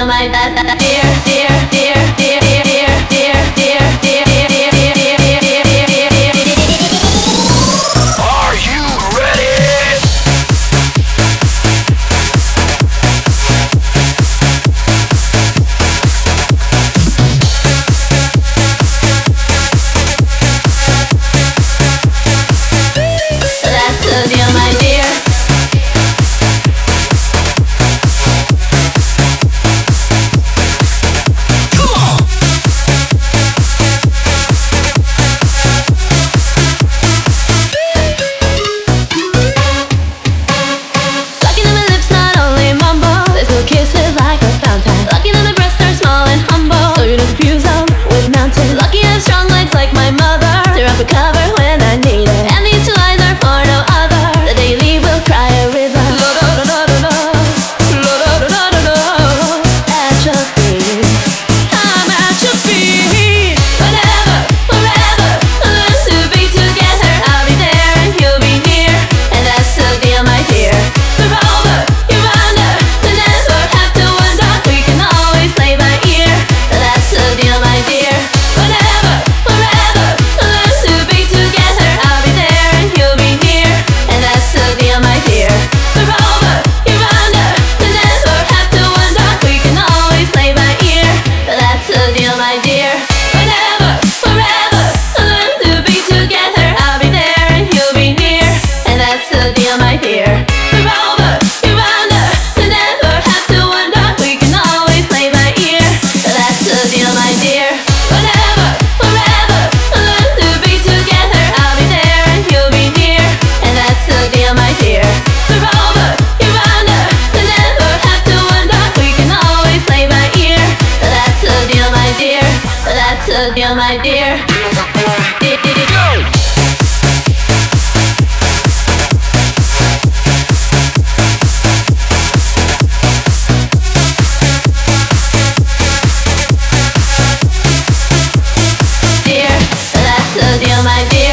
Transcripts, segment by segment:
my dear, dear, dear, dear, dear, dear, dear, dear, dear, dear, dear, dear. Are you ready? That's the deal, my dear. Lucky that my lips not only mumble, little kisses like a fountain. Lucky that my breasts are small and humble, so you don't confuse them with mountains. Lucky I have strong legs like my mother, to wrap a cover when I need it. And these two eyes are for no other, the daily will cry a river. At your feet, I'm at your feet. Whenever, wherever, learn to be together. I'll be there and you'll be near, and that's the deal, my dear. We're over, you're under, we never have to wonder. We can always play by ear, that's the deal, my dear. Whenever, wherever, learn to be together. I'll be there and you'll be near, and that's the deal, my dear. We're over, you're under, we never have to wonder. We can always play by ear, that's the deal, my dear. Whenever, wherever, learn to be together. I'll be there and you'll be near, and that's the deal, my dear. We're over, you're under, we never have to wonder. We can always play by ear, that's the deal, my dear. Whenever, wherever, learn to be together. I'll be there and you'll be near, and that's the deal, my dear. We're over, you're under, we never have to wonder. We can always play by ear, that's the deal, my dear. That's the deal, my dear. Dear, that's the deal, my dear.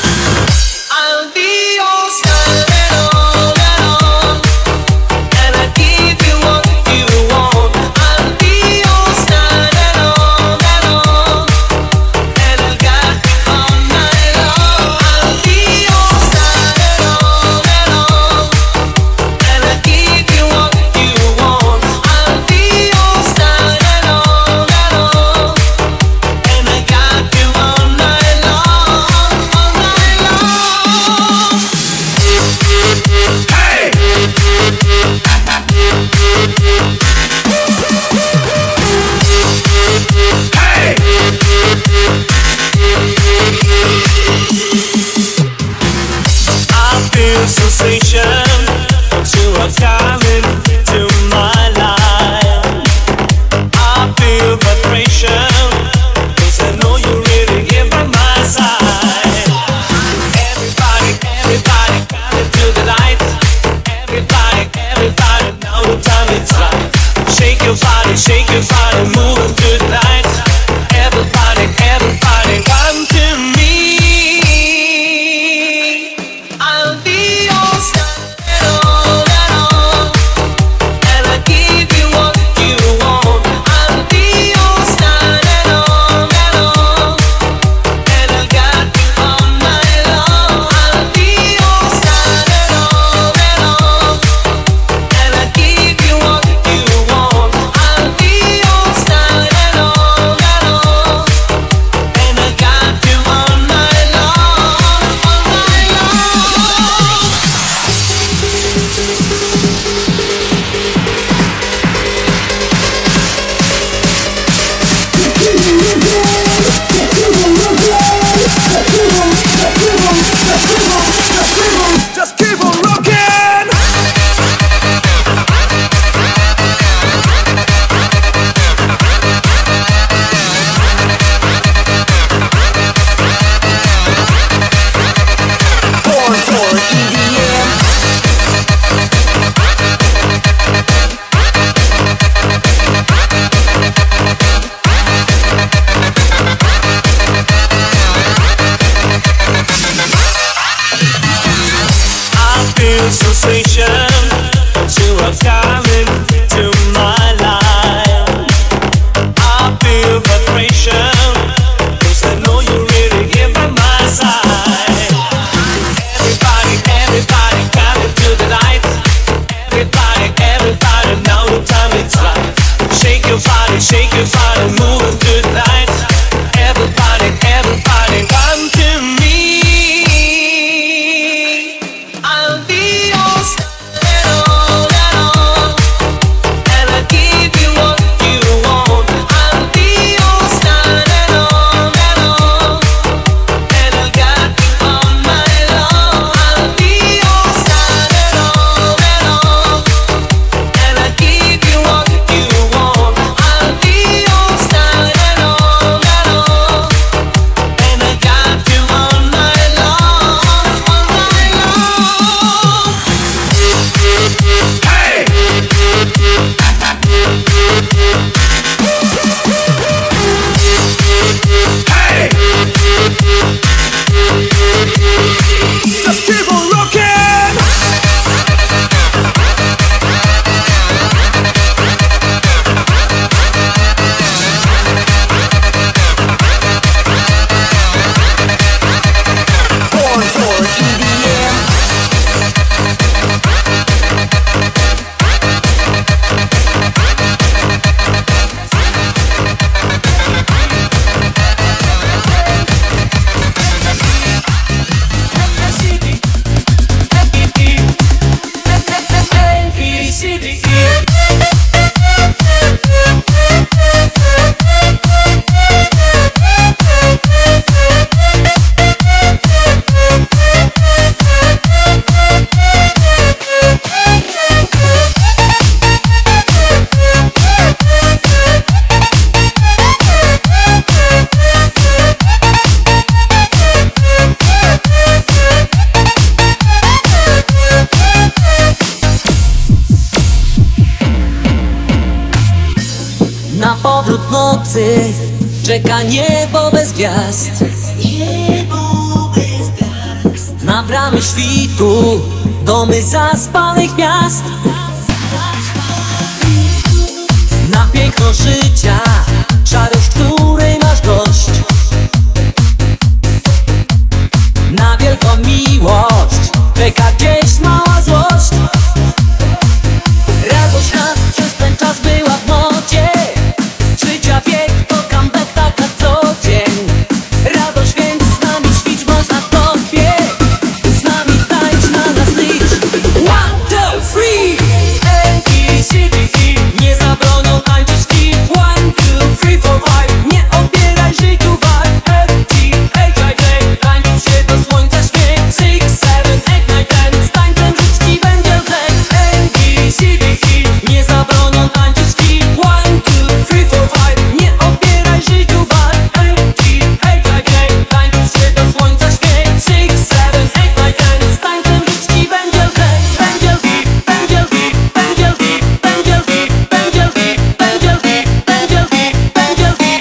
I'll be your star and all, and I give you what you want. I'll be your star and all, and I got you all night long. I'll be your star and all, and I give you what you want. I'll be your star and all, and I got you all night long, all night long. Hey! Hey! I feel sensation to a coming to my life. I feel vibration 'cause I know you're really here by my side. Everybody, everybody, come into the light. Everybody, everybody, now the time is right. Shake your body, move to the night. Everybody, everybody, come to me. I'll be your star and all, and I give you what you want. I'll be your star and all, and I got you all night long. I'll be your star and all, and I give you what you want. I'll be your star and all, and I got you all night long, all night long. Just keep on rocking! Born for EDM. I feel sensation to a coming to my life. I feel vibration 'cause I know you're really here by my side. Everybody, everybody, come into the light. Everybody, everybody, now the time is right. Shake your body, move to the night. Everybody, everybody, come to me. I'll be your star and all, and I give you what you want. I'll be your star and all, and I got you all night long. I'll be your star and all, and I give you what you want. I'll be your star and all, and I got you all night long, all night long. Hey! Hey! Just keep on rocking! Born for EDM. Na powrót nocy czeka niebo bez gwiazd. Na bramie świtu, domy zaspanych miast, na piękno życia, szarość, której masz dość, na wielką miłość czeka gdzieś mała złość. Radość nas przez ten czas była w modzie, życia bieg to comeback tak na co dzień. Radość więc z nami świć, można to bieg, z nami tańcz, na nas licz. 1, 2, 3 A-B-C-D-E, nie zabronią tańczyć i 1, 2, 3, 4, 5, nie odbieraj życiu vibe. F-G-H-I-J, tańczyć się do słońca śmiech. 6, 7, 8, 9, 10, z tańcem żyć ci będzie lżej. A-B-C-D-E, nie zabronią tańczyć i 1, 2, 3, 4, 5, nie odbieraj życiu vibe. F-G-H-I-J, tańczyć się do słońca śmiech. 6, 7, 8, 9, 10, z tańcem żyć ci będzie lżej. Będzie lżej, będzie lżej, będzie lżej, będzie lżej, będzie lżej, będzie lżej, będzie lżej, będzie lżej.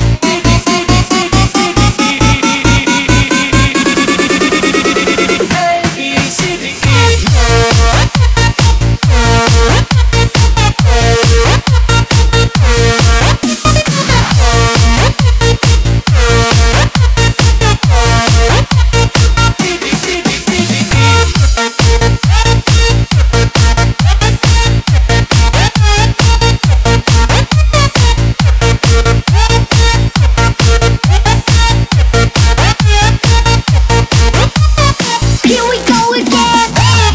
Here we go again.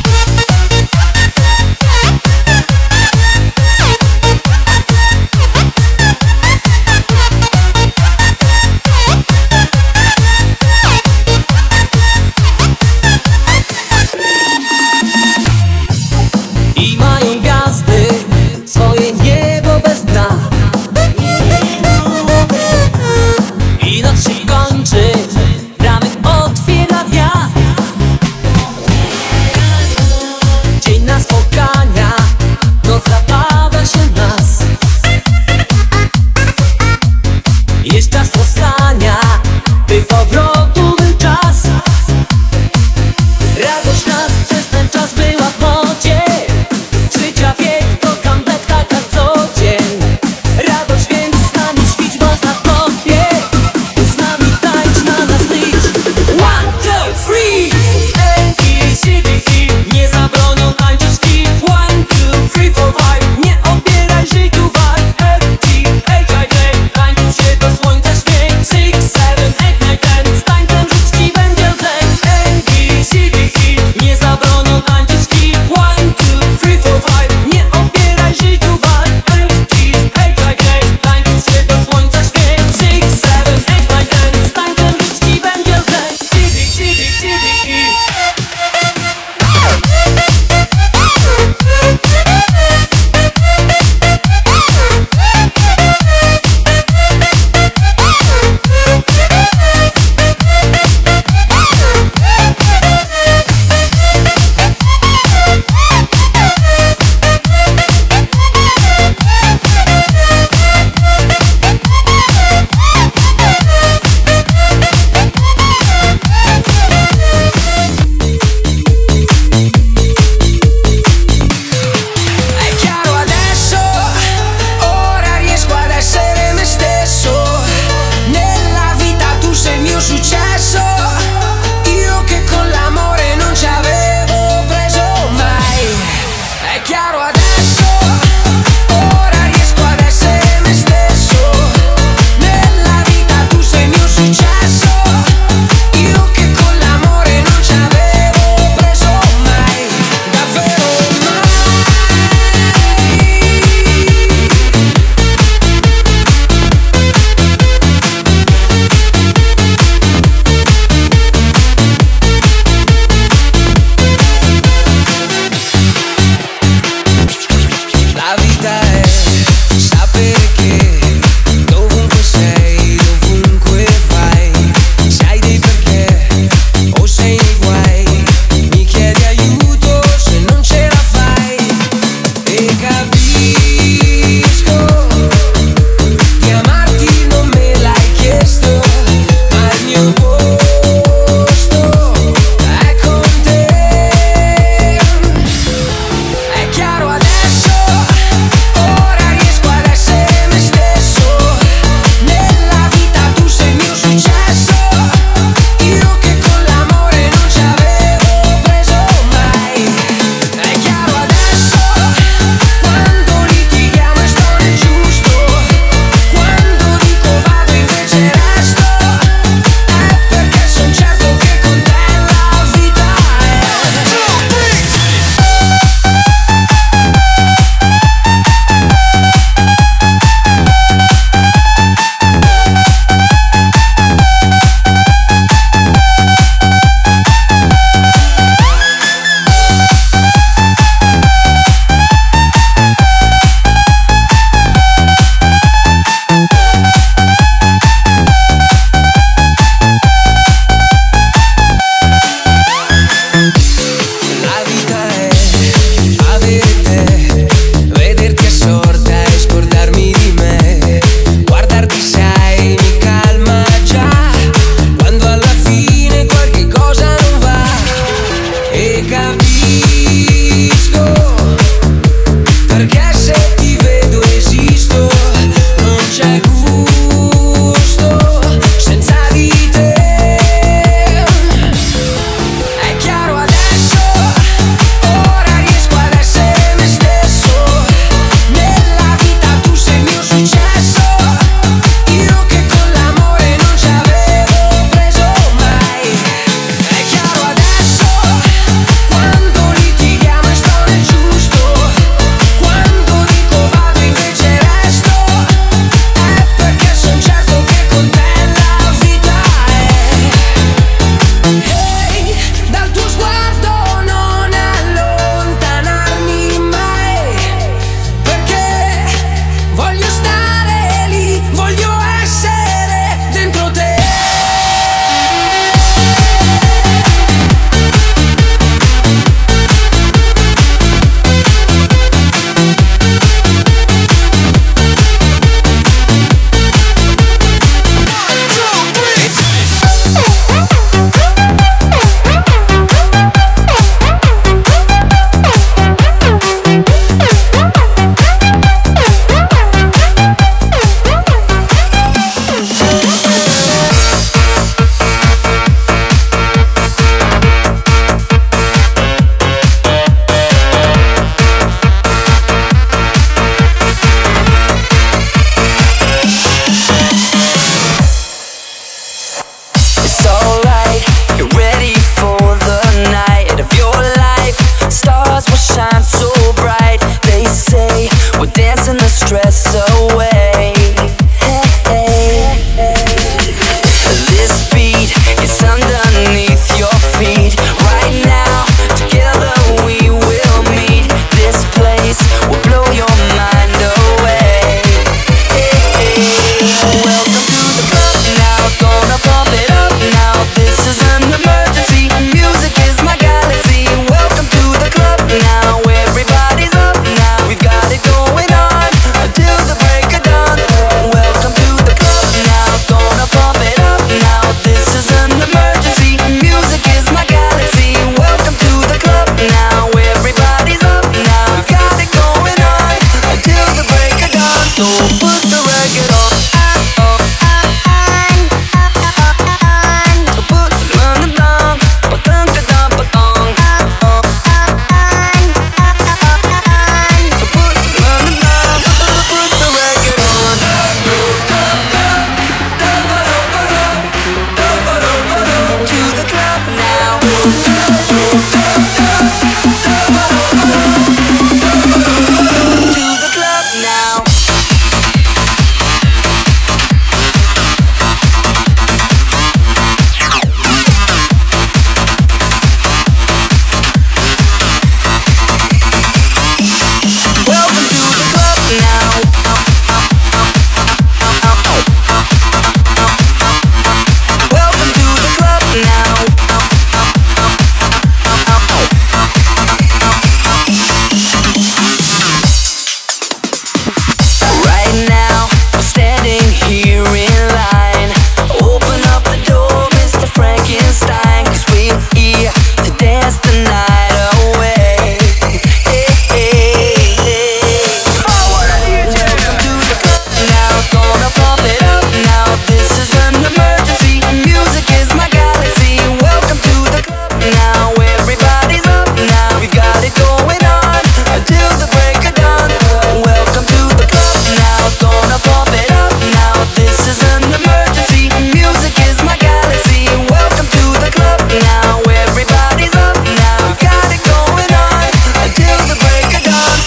I mają gwiazdy swoje niebo bez dna, i noc się kończy, ramek otwiera wiatr. Dzień na spotkania, noc zapada się w nas. Jest czas powstania, by powrotu był czas. Radość nas przez ten czas była w modzie, życia bieg to comeback tak na co dzień. Radość więc z nami świć, można to bieg, z nami tańcz, na nas licz. 1, 2, 3 A-B-C-D-E, nie zabronią tańczyć i 1, 2, 3, 4, 5, nie odbieraj życiu vibe. F-G-H-I-J, tańczyć się do słońca śmiech. 6, 7, 8, 9, 10, z tańcem żyć ci będzie lżej. A-B-C-D-E, nie zabronią tańczyć i 1, 2, 3, 4, 5, nie odbieraj życiu vibe. F-G-H-I-J, tańczyć się do słońca śmiech. 6, 7, 8, 9, 10, z tańcem żyć ci będzie lżej. C-D-E.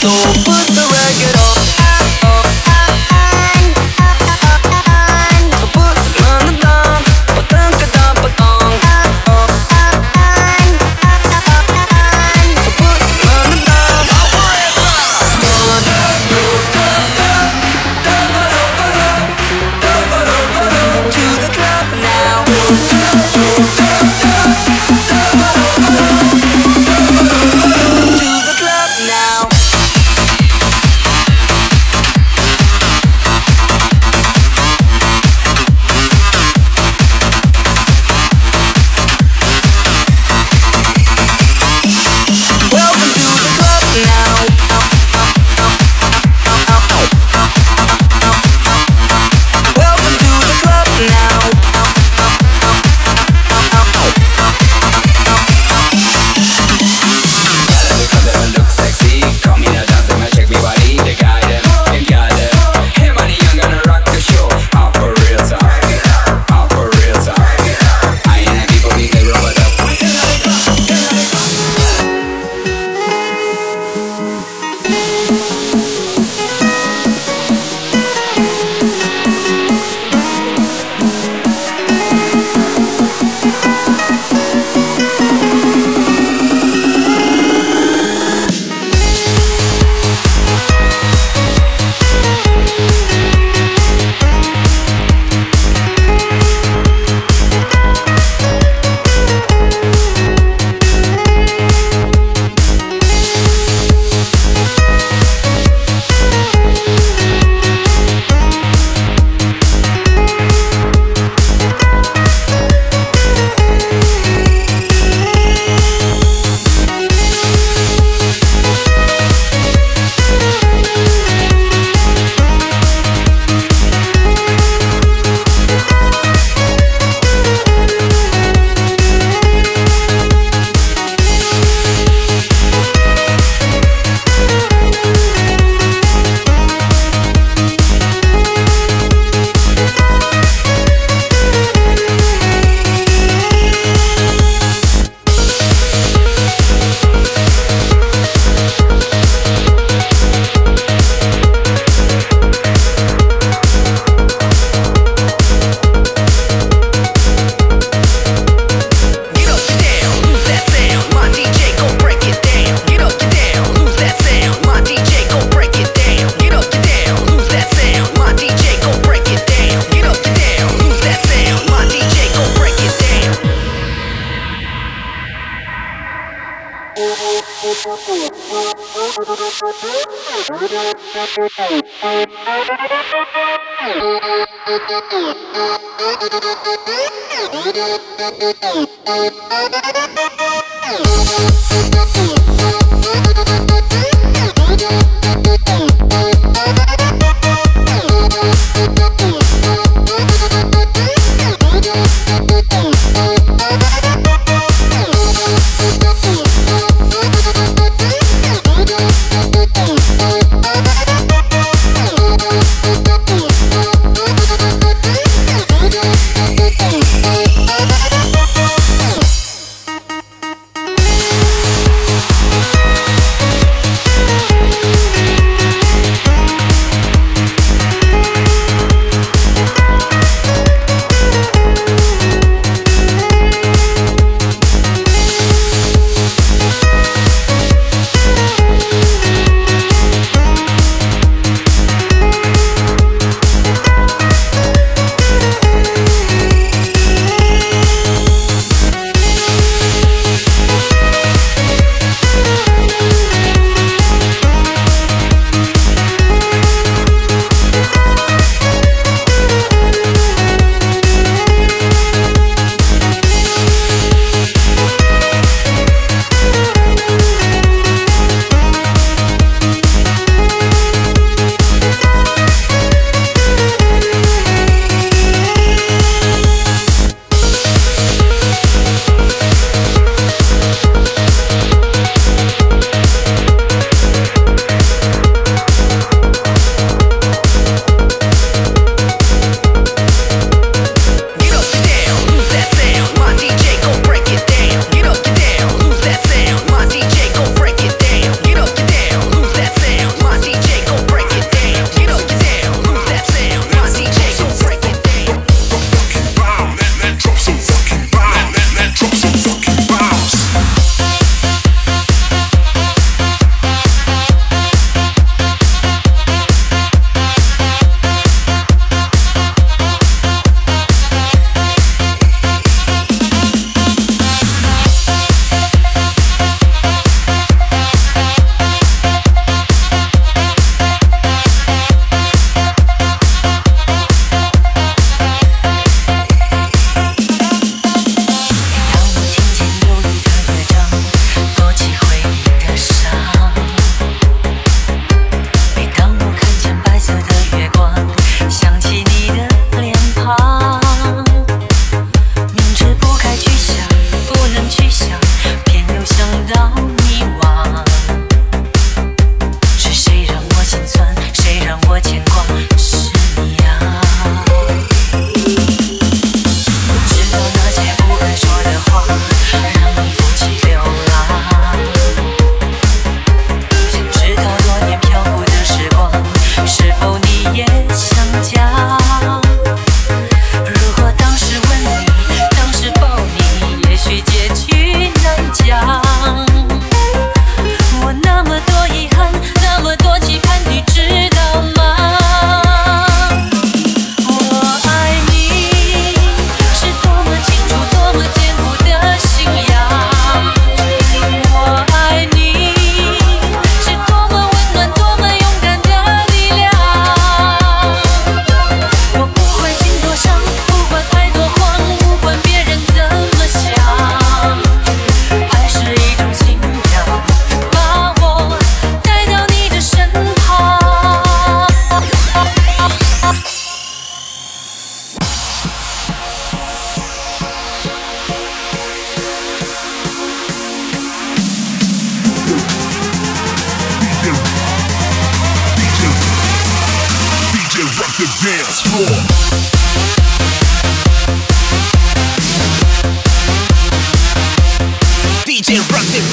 So put the record on. So put the gun down, patang kadang patang. So put the gun down. To the club now. To the club now. Welcome to the club now. Welcome to the club now. Look sexy, come in a dance and check me body. They got it, they got it. Hey, money, I'm gonna rock the show. Up for real time, up for real time. I ain't a people being they roll it up. the dance floor. DJ rock the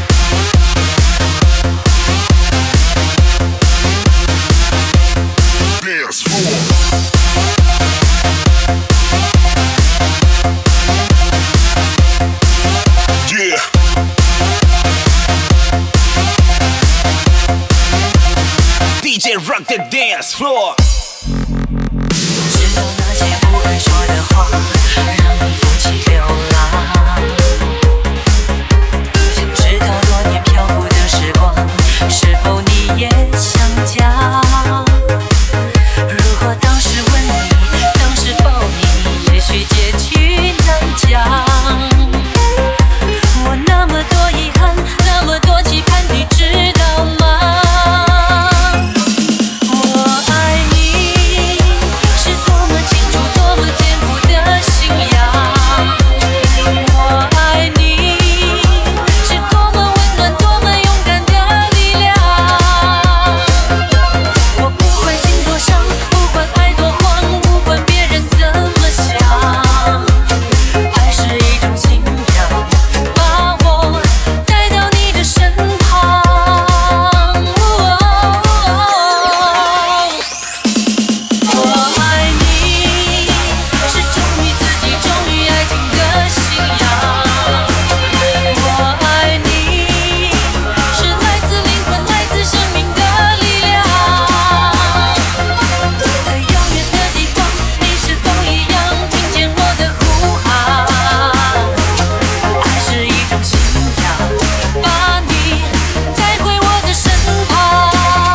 dance floor. Yeah. DJ rock the dance floor. 知道那些不该说的话，让你负气流浪。想知道多年漂浮的时光，是否你也想家？如果当时吻你，当时抱你，也许结局难讲。我那么多遗憾，那么多期盼，你知道吗？我爱你，是多么清楚，多么坚固的信仰。我爱你，是多么温暖，多么勇敢的力量。我不管心多伤，不管爱多慌，不管别人怎么想，爱是一种信仰，把我带到你的身旁。我爱你，是忠于自己，忠于爱情的信仰。我爱你，是来自灵魂，来自生命的力量。在遥远的地方，你是否一样听见我的呼喊？爱是一种信仰，把你带回我的身旁。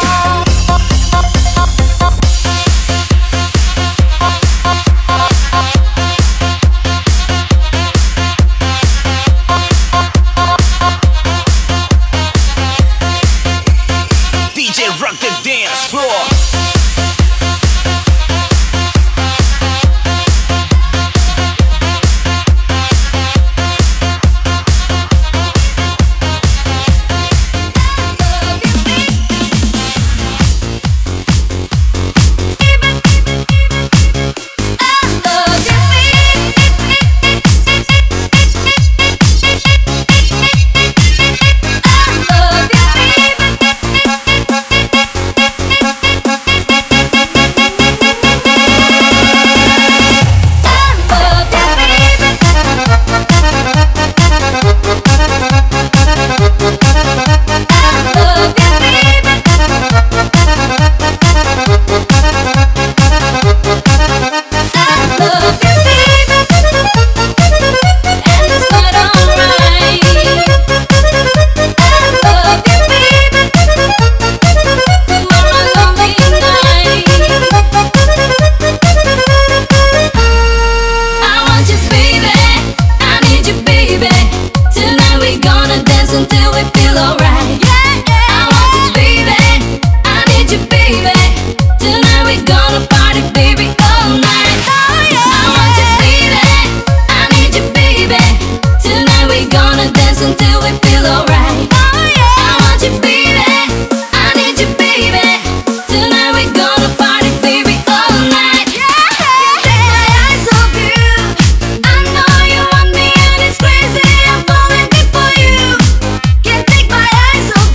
DJ rock the dance floor. Until we feel alright. I want you, baby. I need you, baby. Tonight we gonna party, baby, all night. I want you, baby. I need you, baby. Tonight we gonna dance until we feel alright. I want you, baby. I need you, baby. Tonight we gonna party, baby, all night. Take my eyes off you. I know you want me and it's crazy. I'm falling deep for you. Can't take my eyes off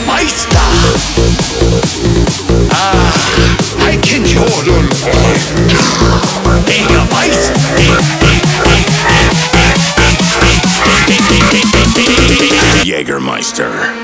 basta. I can hold Ega basta. Jägermeister.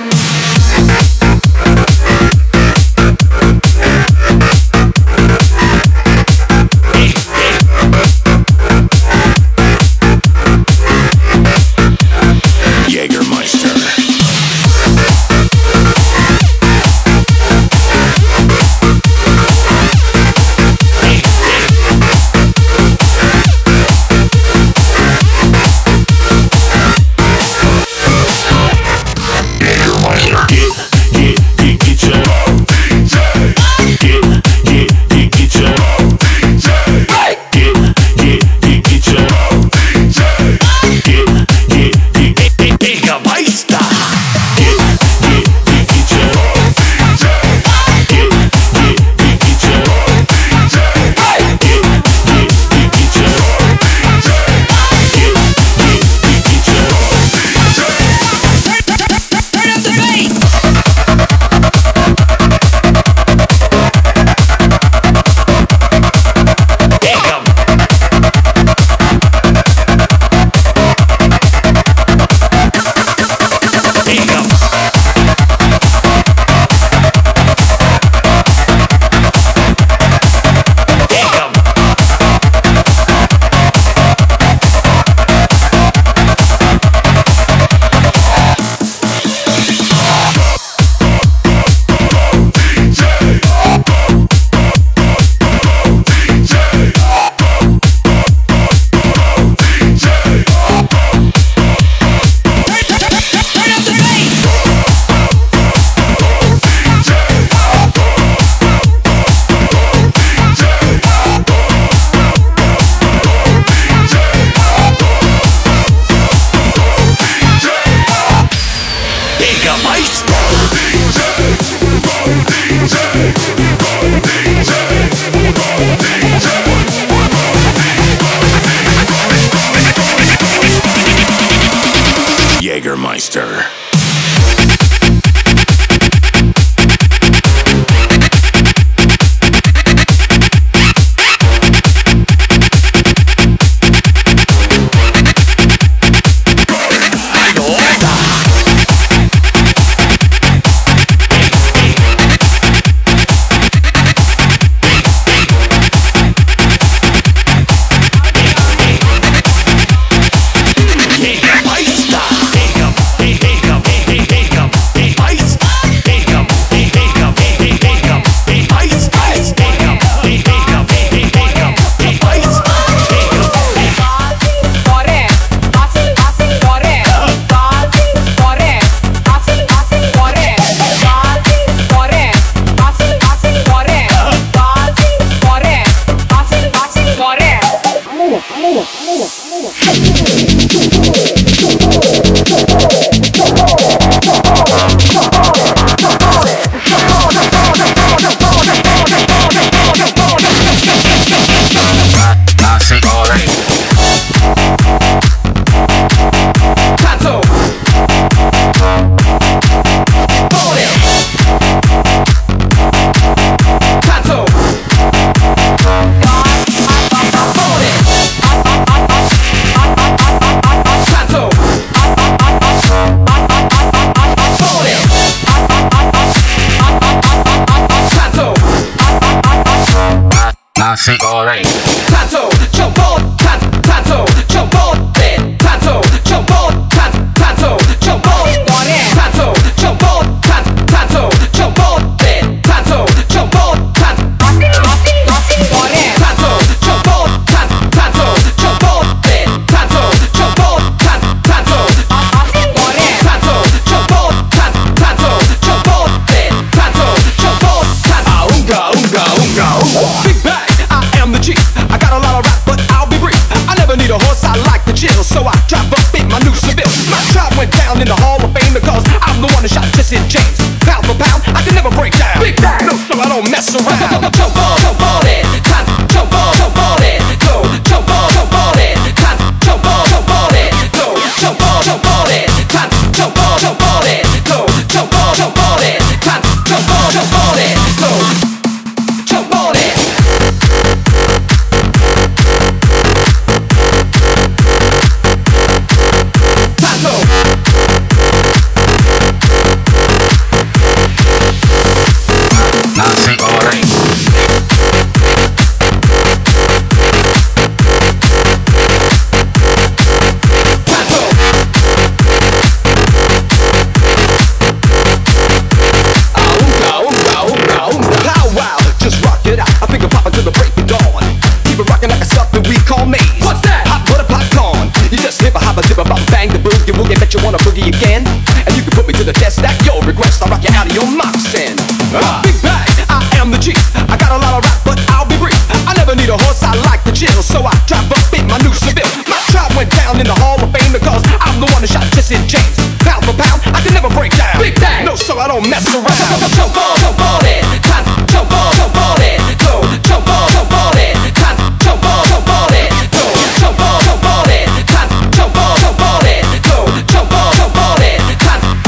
Jägermeister. Nasi goreng. Tanto, jump on, tanto, jump on, tanto, jump on, tanto, jump on, tanto, jump on, tanto, jump on, tanto, jump on, tanto, jump on, tanto, jump on, tanto, jump on, tanto, tanto, jump on, tanto, jump on, tanto, jump on, unga, unga, unga, unga. Big bang, I am the chief. I got a lot of rap, but I'll be brief. Time to jump on it. So jump on it. Time to Nazi Ori. Bet you wanna boogie again, and you can put me to the test. That your request, I'll rock you out of your moccasins. Big bag, I am the G. I got a lot of rap, but I'll be brief. I never need a horse, I like to chill, so I drive up in my new Seville. My tribe went down in the Hall of Fame because I'm the one that shot Jesse James. Pound for pound, I can never break down. Big bag, no, so I don't mess around. Jump on it, time to jump on it, go, jump on it, time to jump on it, go, jump on it, time to jump on it, go, jump on it, time to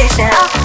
危险。